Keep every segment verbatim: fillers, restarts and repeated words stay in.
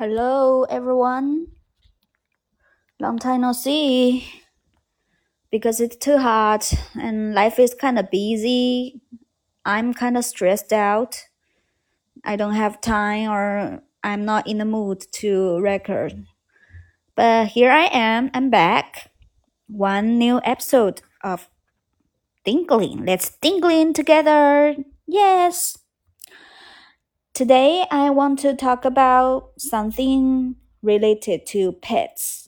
Hello, everyone. Long time no see. Because it's too hot and life is kind of busy. I'm kind of stressed out. I don't have time or I'm not in the mood to record. But here I am. I'm back. One new episode of Tinkling. Let's tinkling together. Yes. Today I want to talk about something related to pets.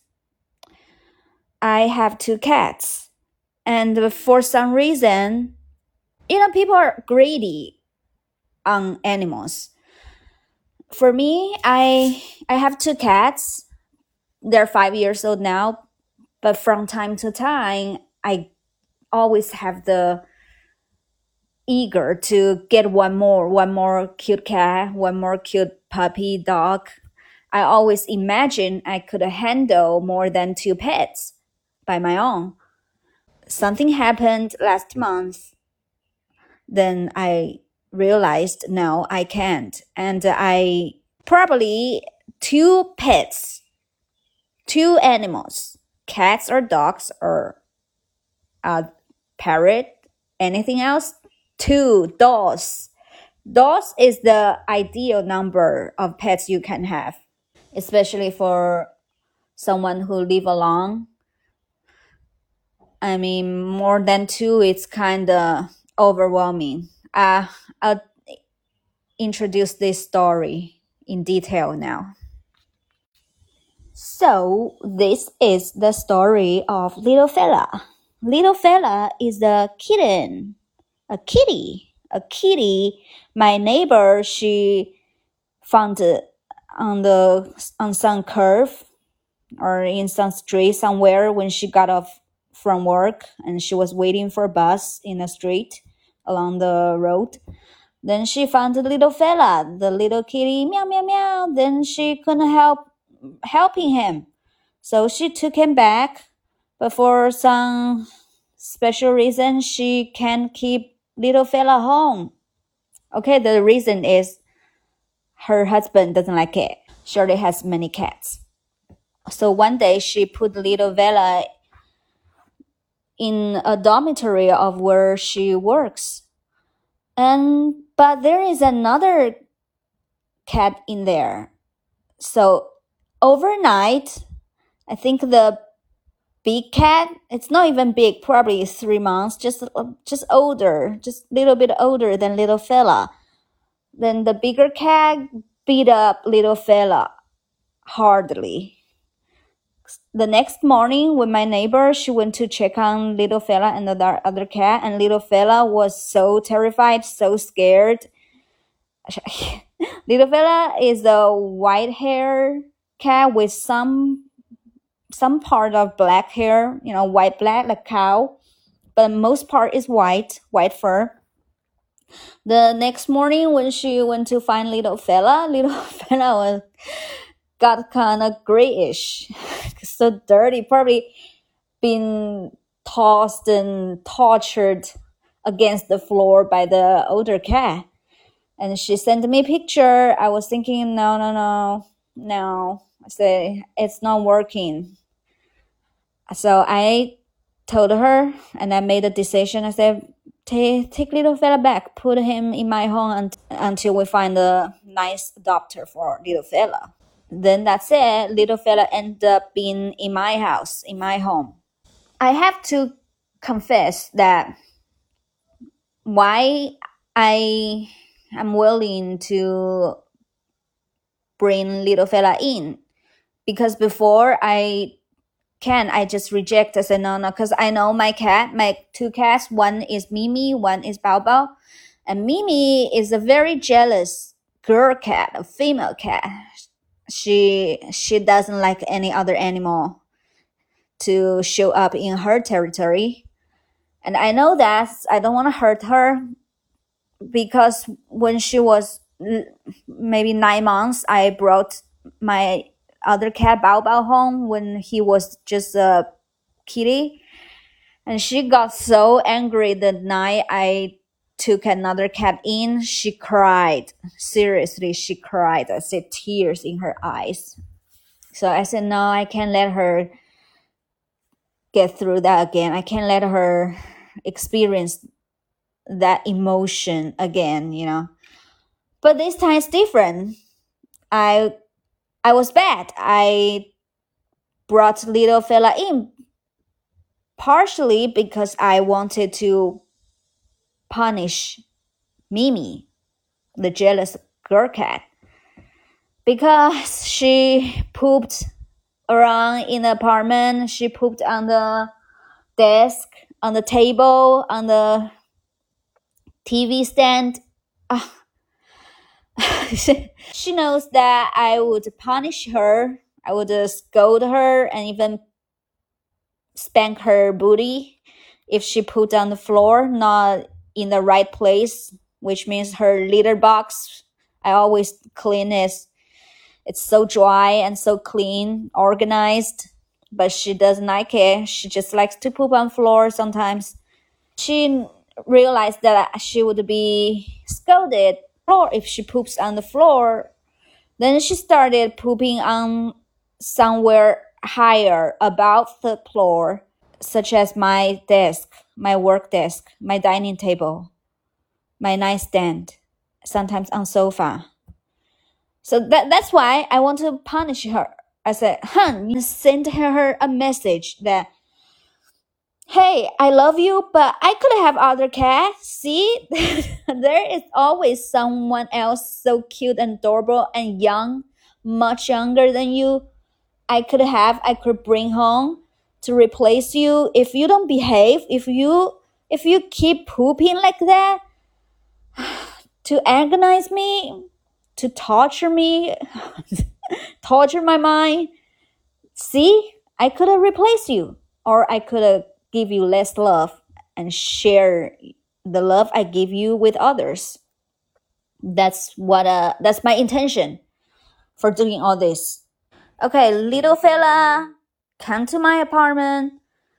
I have two cats. And for some reason, you know, people are greedy on animals. For me, I I have two cats. They're five years old now, but from time to time, I always have the eager to get one more, one more cute cat, one more cute puppy dog. I always imagine I could handle more than two pets by my own. Something happened last month. Then I realized no, I can't. And I probably two pets, two animals, cats or dogs or a parrot, anything else, two dolls. Dolls is the ideal number of pets you can have, especially for someone who live alone. I mean, more than two, it's kind of overwhelming. Uh, I'll introduce this story in detail now. So, this is the story of Little Fella. Little Fella is a kitten, a kitty, a kitty. My neighbor, she found it on the on some curve or in some street somewhere when she got off from work and she was waiting for a bus in the street along the road. Then she found the little fella, the little kitty, meow, meow, meow. Then she couldn't help helping him. So she took him back. But for some special reason, she can't keep little fella home. Okay, the reason is her husband doesn't like it. Shirley has many cats. So one day she put little Vela in a dormitory of where she works. And but there is another cat in there. So overnight, I think the big cat, it's not even big, probably three months, just just older, just a little bit older than little fella. Then the bigger cat beat up little fella hardly. The next morning when my neighbor, she went to check on little fella and the other cat, and little fella was so terrified, so scared. Little fella is a white hair cat with some some part of black hair, you know, white black like cow, but most part is white, white fur. The next morning when she went to find little fella, little fella was got kind of grayish, so dirty, probably been tossed and tortured against the floor by the older cat. And she sent me a picture. I was thinking, no, no, no, no. I said, it's not working. So I told her and I made a decision. I said, take, take little fella back, put him in my home un- until we find a nice adopter for little fella. Then that's it. Little fella ended up being in my house, in my home. I have to confess that why I am willing to bring little fella in, because before I can, I just reject. I said no, no, because I know my cat, my two cats. One is Mimi, one is Bao Bao, and Mimi is a very jealous girl cat, a female cat. She she doesn't like any other animal to show up in her territory. And I know that I don't want to hurt her, because when she was maybe nine months, I brought my other cat Bao Bao home when he was just a kitty. And she got so angry the night I took another cat in, she cried. Seriously, she cried. I said tears in her eyes. So I said, no, I can't let her get through that again. I can't let her experience that emotion again, you know. But this time it's different. I I was bad. I brought little fella in partially because I wanted to punish Mimi, the jealous girl cat, because she pooped around in the apartment. She pooped on the desk, on the table, on the T V stand. Ah. She knows that I would punish her. I would uh, scold her and even spank her booty if she put on the floor, not in the right place, which means her litter box. I always clean it. It's so dry and so clean, organized, but she doesn't like it. She just likes to poop on floor sometimes. She realized that she would be scolded floor if she poops on the floor. Then she started pooping on somewhere higher above the floor, such as my desk, my work desk, my dining table, my nightstand, sometimes on sofa. So that, that's why I want to punish her. I said, hun, send her a message that, hey, I love you, but I could have other cats. See, there is always someone else so cute and adorable and young, much younger than you. I could have, I could bring home to replace you. If you don't behave, if you if you keep pooping like that, to agonize me, to torture me, torture my mind. See, I could have replaced you, or I could have give you less love and share the love I give you with others. That's what uh that's my intention for doing all this. Okay, little fella, come to my apartment.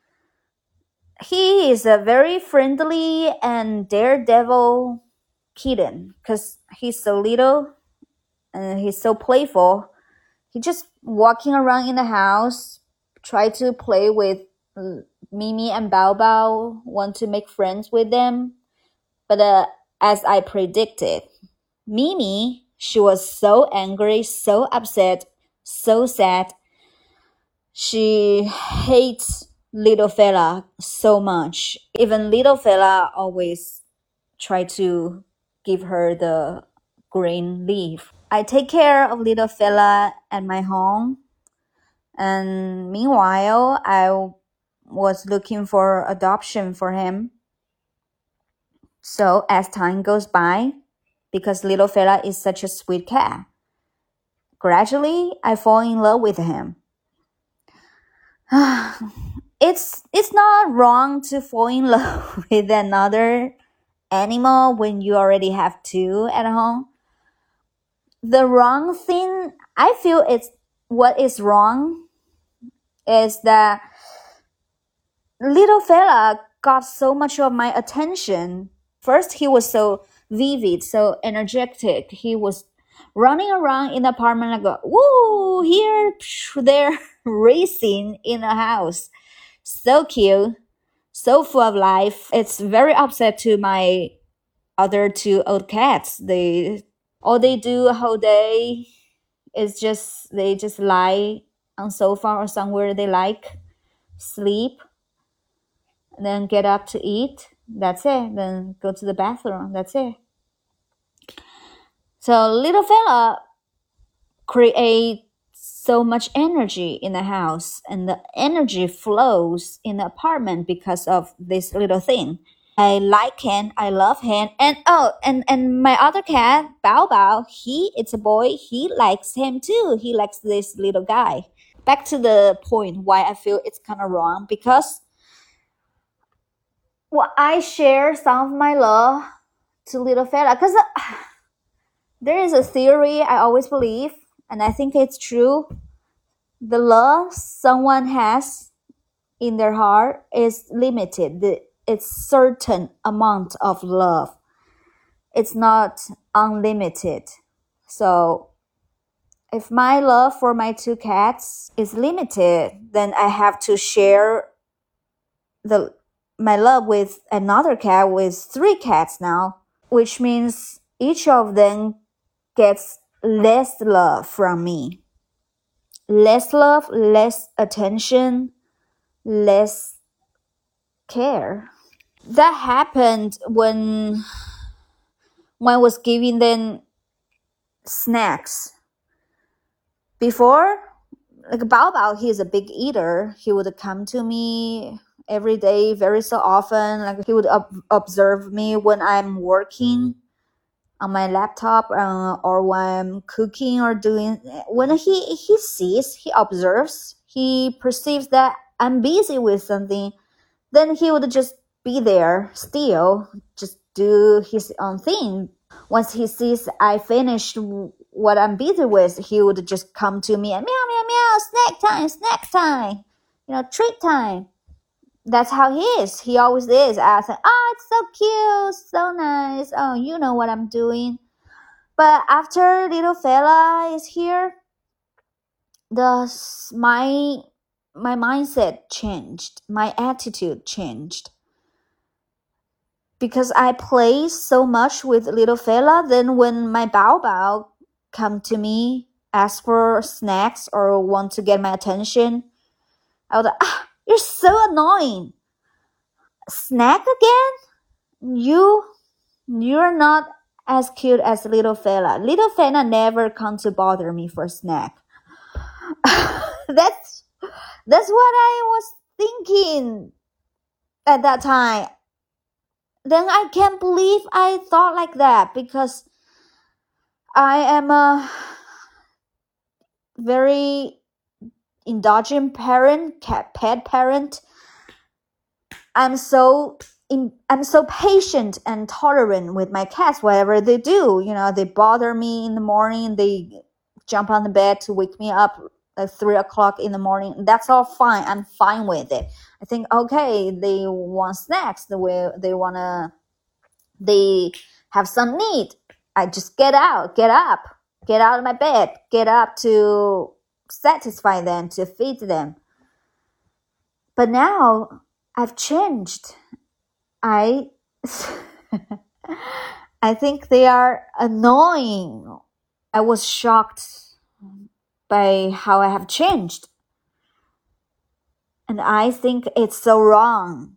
He is a very friendly and daredevil kitten because he's so little and he's so playful. He just walking around in the house, try to play with Mimi and Bao Bao, want to make friends with them. But uh, as I predicted, Mimi, she was so angry, so upset, so sad. She hates little fella so much. Even little fella always try to give her the green leaf. I take care of little fella at my home. And meanwhile, I was looking for adoption for him. So as time goes by, because little fella is such a sweet cat, gradually I fall in love with him. it's it's not wrong to fall in love with another animal when you already have two at home. The wrong thing, I feel it's what is wrong is that little fella got so much of my attention. First, he was so vivid, so energetic. He was running around in the apartment like, go, woo, here, there, racing in the house. So cute, so full of life. It's very upset to my other two old cats. They all they do a whole day is just they just lie on sofa or somewhere they like, sleep, and then get up to eat. That's it. Then go to the bathroom. That's it. So little fella create so much energy in the house, and the energy flows in the apartment because of this little thing. I like him. I love him. And oh, and, and my other cat, Bao Bao, he, it's a boy. He likes him too. He likes this little guy. Back to the point why I feel it's kind of wrong, because well, I share some of my love to little fella. Because uh, there is a theory I always believe, and I think it's true. The love someone has in their heart is limited. The, it's certain amount of love. it's not unlimited. So if my love for my two cats is limited, then I have to share the my love with another cat with three cats now, which means each of them gets less love from me. Less love, less attention, less care. That happened when when I was giving them snacks. Before, like Bao Bao, he is a big eater. He would come to me every day, very so often. Like he would ob- observe me when I'm working on my laptop, uh, or when I'm cooking or doing. When he he sees, he observes, he perceives that I'm busy with something, then he would just be there still, just do his own thing. Once he sees I finished what I'm busy with, he would just come to me and meow, meow, meow, snack time, snack time, you know, treat time. That's how he is. He always is. I say, oh, it's so cute, so nice. Oh, you know what I'm doing. But after little fella is here, the my my mindset changed. My attitude changed. Because I play so much with little fella, then when my Bao Bao come to me, ask for snacks or want to get my attention, I would, ah, you're so annoying. Snack again? You, you're not as cute as little fella. Little fella never come to bother me for snack. that's, that's what I was thinking at that time. Then I can't believe I thought like that, because I am a very indulgent parent, cat pet parent. I'm so in, I'm so patient and tolerant with my cats. Whatever they do, you know, they bother me in the morning. They jump on the bed to wake me up at three o'clock in the morning. That's all fine. I'm fine with it. I think, okay, they want snacks. The way they wanna, they have some need. I just get out, get up, get out of my bed, get up to satisfy them, to feed them. But now I've changed. I I think they are annoying. I was shocked by how I have changed. And I think it's so wrong.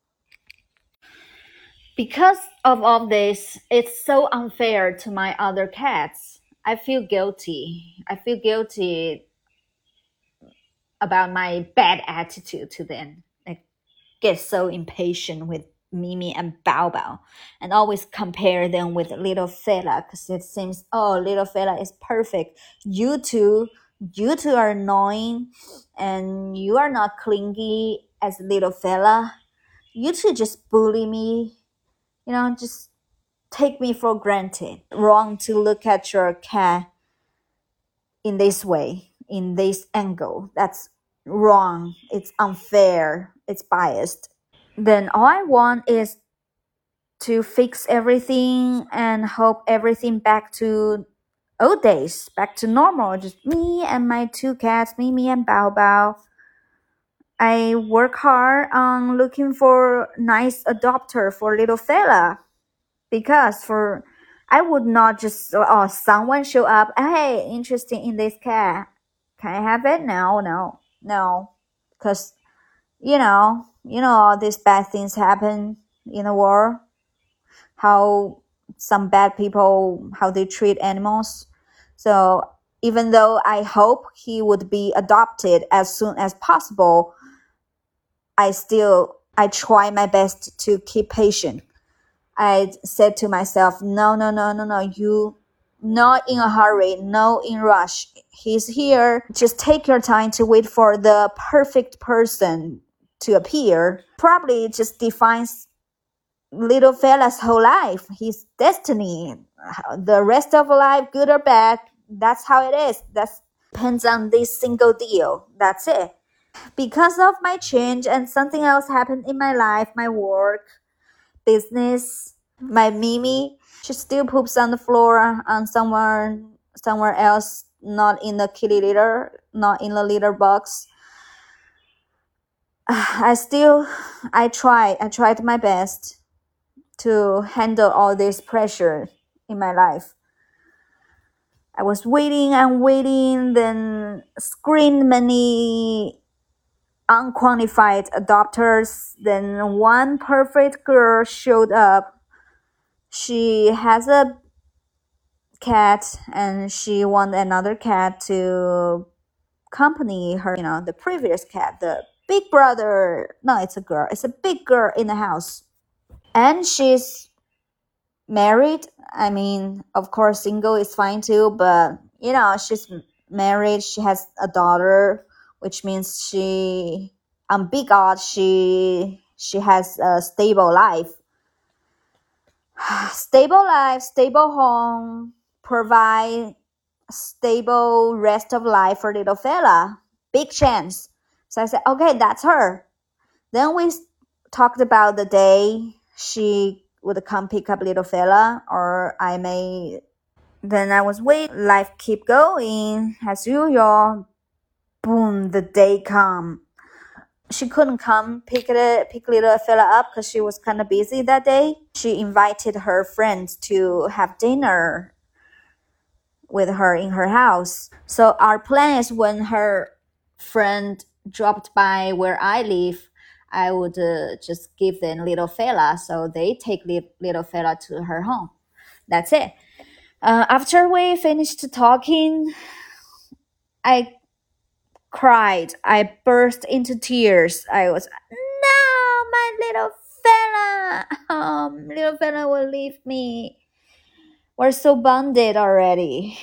Because of all this, it's so unfair to my other cats. I feel guilty. I feel guilty about my bad attitude to them. I get so impatient with Mimi and Bao Bao and always compare them with little fella, because it seems, oh, little fella is perfect. You two, you two are annoying and you are not clingy as little fella. You two just bully me. You know, just take me for granted. Wrong to look at your cat in this way, in this angle. That's wrong. It's unfair. It's biased. Then all I want is to fix everything and hope everything back to old days, back to normal. Just me and my two cats, Mimi and Bao Bao. I work hard on looking for nice adopter for little fella. Because for I would not just, oh, someone show up, hey, interested in this cat, can I have it? No, no, no, because you know, you know, all these bad things happen in the world. How some bad people, how they treat animals. So even though I hope he would be adopted as soon as possible, I still I try my best to keep patient. I said to myself, no, no, no, no, no, you, not in a hurry, no in rush. He's here. Just take your time to wait for the perfect person to appear. Probably just defines little fella's whole life, his destiny. The rest of life, good or bad, that's how it is. That depends on this single deal. That's it. Because of my change and something else happened in my life, my work, business, my Mimi, She still poops on the floor on somewhere somewhere else, not in the kitty litter, not in the litter box. I still, I tried, I tried my best to handle all this pressure in my life. I was waiting and waiting, then screened many unqualified adopters. Then one perfect girl showed up. She has a cat and she want another cat to accompany her, you know, the previous cat, the big brother. No, it's a girl. It's a big girl in the house. And she's married. I mean, of course, single is fine too, but, you know, she's married. She has a daughter, which means she, on big odds, she, she has a stable life. Stable life, stable home, provide stable rest of life for little fella. Big chance. So I said, okay, that's her. Then we talked about the day she would come pick up little fella, or I may. Then I was waiting. Life keep going as usual. Boom, the day come. She couldn't come pick it, pick little fella up because she was kind of busy that day. She invited her friends to have dinner with her in her house. So our plan is when her friend dropped by where I live, I would uh, just give them little fella, so they take li- little fella to her home. That's it. Uh, after we finished talking, I cried. I burst into tears. I was, no, my little fella. Um, little fella will leave me. We're so bonded already.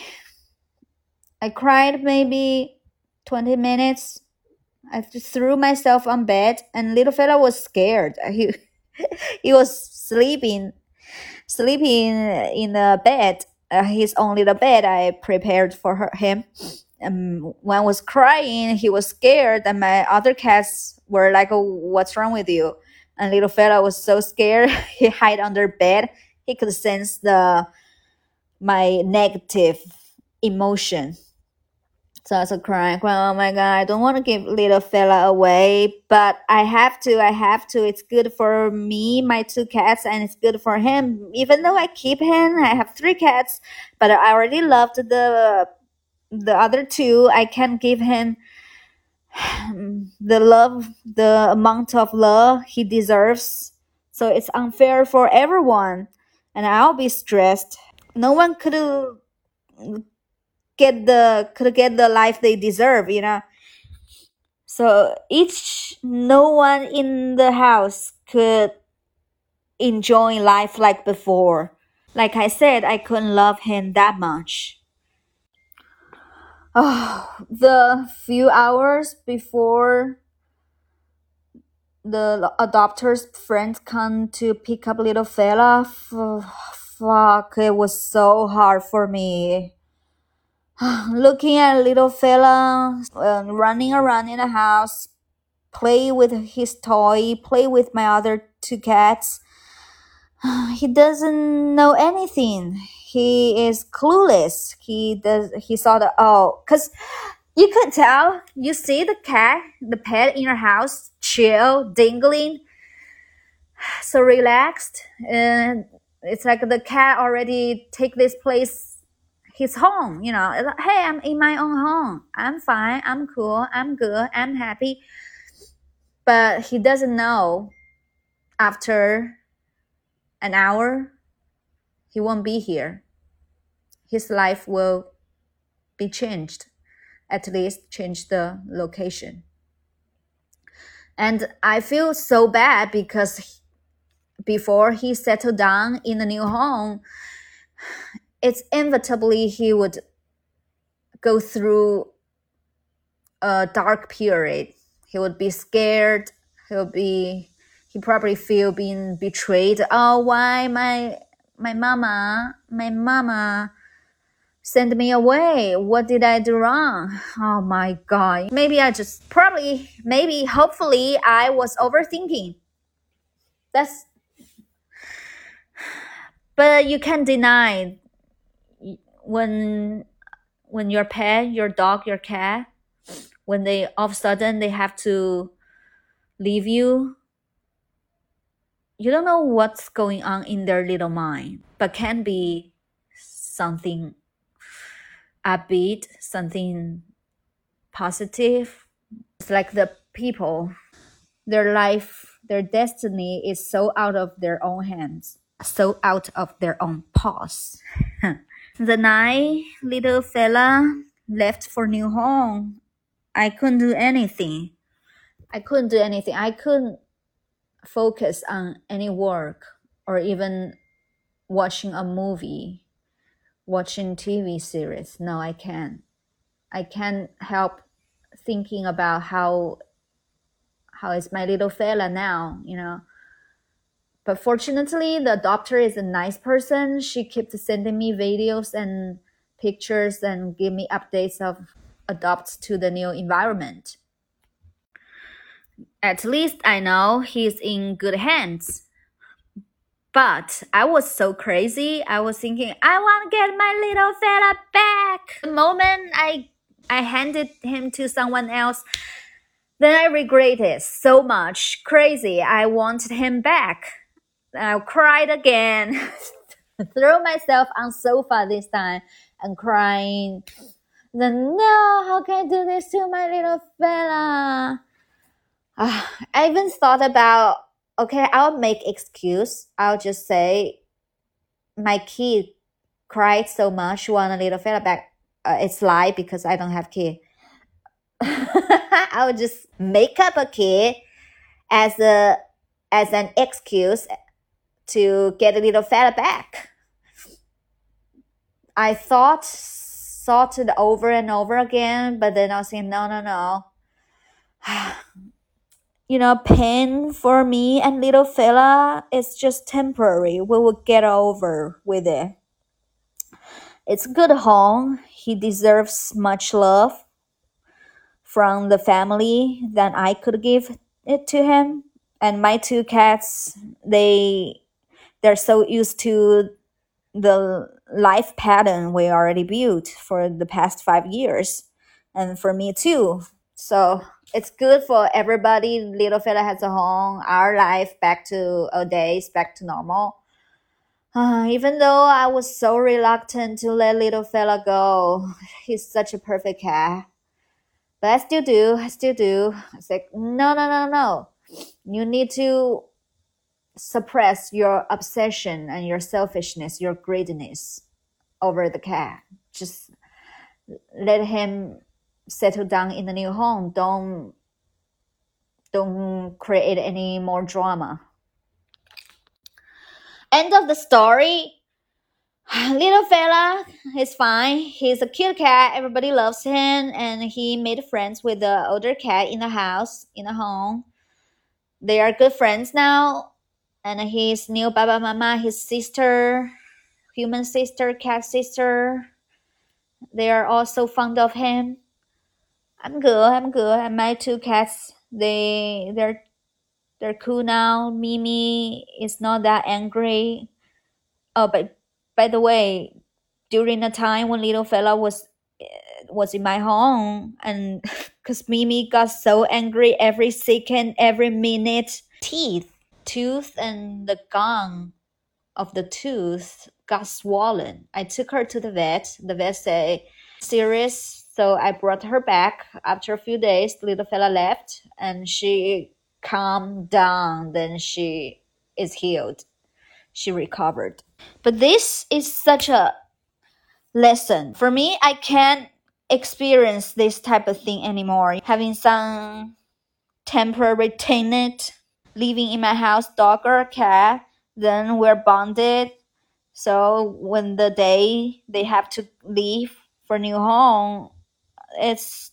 I cried maybe twenty minutes. I threw myself on bed, and little fella was scared. He, he was sleeping, sleeping in the bed, uh, his own little bed I prepared for her, him. Um, when I was crying, he was scared, and my other cats were like, oh, what's wrong with you? And little fella was so scared, he hid under bed. He could sense the my negative emotion. So I was crying, oh my God, I don't want to give little fella away, but I have to, I have to. It's good for me, my two cats, and it's good for him. Even though I keep him, I have three cats, but I already loved the the other two. I can't give him the love, the amount of love he deserves. So it's unfair for everyone, and I'll be stressed. No one could get the could get the life they deserve, you know. So each no one in the house could enjoy life like before. Like I said, I couldn't love him that much. Oh, the few hours before the adopter's friends come to pick up little fella, f- fuck, it was so hard for me. Looking at little fella uh, running around in the house, play with his toy, play with my other two cats. He doesn't know anything. He is clueless. He does. He saw the oh, cause you could tell. You see the cat, the pet in your house, chill, dingling, so relaxed, and it's like the cat already take this place. His home, you know, like, hey, I'm in my own home. I'm fine. I'm cool. I'm good. I'm happy. But he doesn't know after an hour, he won't be here. His life will be changed, at least change the location. And I feel so bad because before he settled down in a new home, it's inevitably he would go through a dark period. He would be scared. He'll be, he probably feel being betrayed. Oh, why my my mama, my mama sent me away? What did I do wrong? Oh my God. Maybe I just, probably, maybe, hopefully I was overthinking. That's, But you can't deny when when your pet, your dog, your cat, when they all of a sudden they have to leave you, you don't know what's going on in their little mind, but can be something upbeat, something positive. It's like the people, their life, their destiny is so out of their own hands, so out of their own paws. The night little fella left for new home, I couldn't do anything. I couldn't do anything. I couldn't focus on any work or even watching a movie, watching T V series. No, I can't. I can't help thinking about how how is my little fella now, you know. But fortunately, the adopter is a nice person. She keeps sending me videos and pictures and give me updates of adopts to the new environment. At least I know he's in good hands. But I was so crazy. I was thinking, I want to get my little fella back. The moment I I handed him to someone else, then I regret it so much. Crazy. I wanted him back. I cried again. Threw myself on sofa this time and crying. Then no, how can I do this to my little fella? Uh, I even thought about, okay, I'll make excuse. I'll just say my kid cried so much, want a little fella back. Uh, it's lie because I don't have kid. I'll just make up a kid as a as an excuse to get a little fella back. I thought thought it over and over again, but then I was saying, no, no, no. You know, pain for me and little fella is just temporary. We will get over with it. It's a good home. He deserves much love from the family that I could give it to him. And my two cats, they they're so used to the life pattern we already built for the past five years, and for me too. So it's good for everybody. Little fella has a home, our life back to our days, back to normal. Uh, even though I was so reluctant to let little fella go, he's such a perfect cat. But I still do, I still do. It's like, no, no, no, no. You need to suppress your obsession and your selfishness, your greediness over the cat. Just let him settle down in the new home. Don't don't create any more drama. End of the story. Little fella is fine. He's a cute cat. Everybody loves him, and he made friends with the older cat in the house, in the home. They are good friends now. And his new Baba Mama, his sister, human sister, cat sister, they are also fond of him. I'm good. I'm good. And my two cats, they they're they're cool now. Mimi is not that angry. Oh, but by the way, during the time when little fella was was in my home, and because Mimi got so angry every second, every minute, teeth, tooth, and the gum of the tooth got swollen. I took her to the vet. The vet said, serious. So I brought her back. After a few days, the little fella left and she calmed down. Then she is healed. She recovered. But this is such a lesson. For me, I can't experience this type of thing anymore. Having some temporary tenant living in my house, dog or cat, then we're bonded. So when the day they have to leave for new home, it's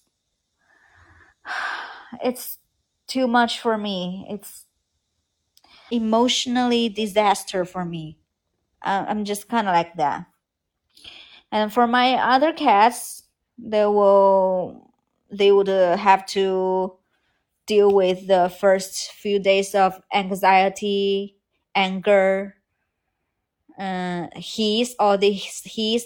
it's too much for me. It's emotionally disaster for me. Uh, I'm just kind of like that. And for my other cats, they will they would uh, have to deal with the first few days of anxiety, anger, uh, he's or this he's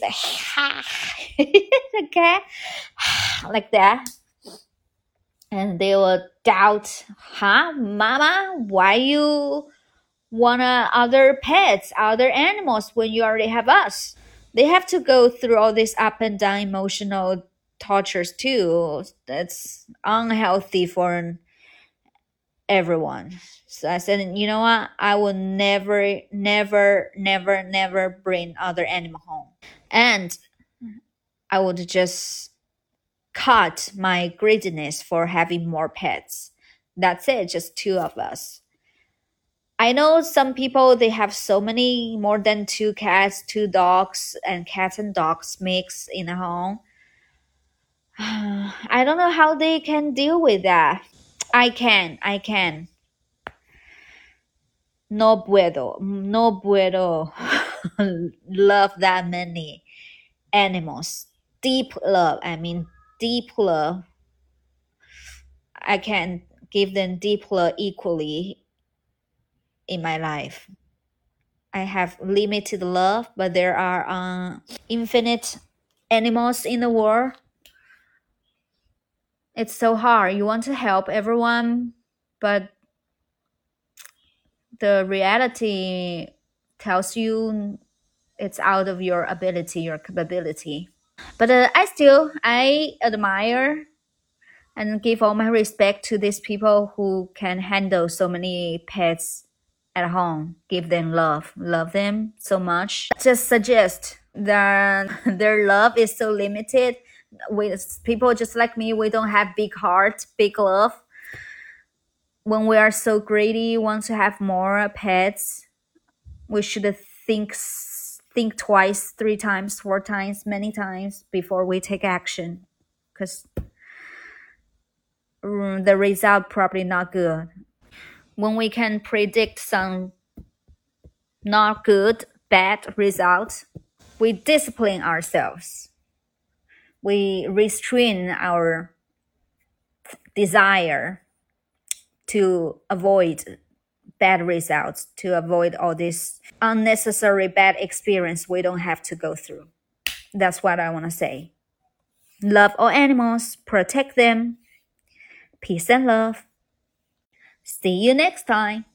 okay, like that, and they will doubt, huh, mama, why you want uh, other pets, other animals when you already have us? They have to go through all this up and down emotional tortures too. That's unhealthy for everyone. So I said, you know what? I will never, never, never, never bring other animal home. And I would just cut my greediness for having more pets. That's it, just two of us. I know some people, they have so many, more than two cats, two dogs, and cats and dogs mix in a home. I don't know how they can deal with that. I can, I can. No puedo, no puedo love that many animals. Deep love, I mean, deep love. I can give them deep love equally in my life. I have limited love, but there are uh, infinite animals in the world. It's so hard. You want to help everyone, but the reality tells you it's out of your ability, your capability. But uh, I still, I admire and give all my respect to these people who can handle so many pets at home. Give them love, love them so much. Just suggest that their love is so limited. With people just like me, we don't have big heart, big love. When we are so greedy, want to have more pets, we should think think twice, three times, four times, many times before we take action, because um, the result probably not good. When we can predict some not good, bad results, we discipline ourselves. We restrain our desire to avoid bad results, to avoid all this unnecessary bad experience we don't have to go through. That's what I want to say. Love all animals, protect them. Peace and love. See you next time.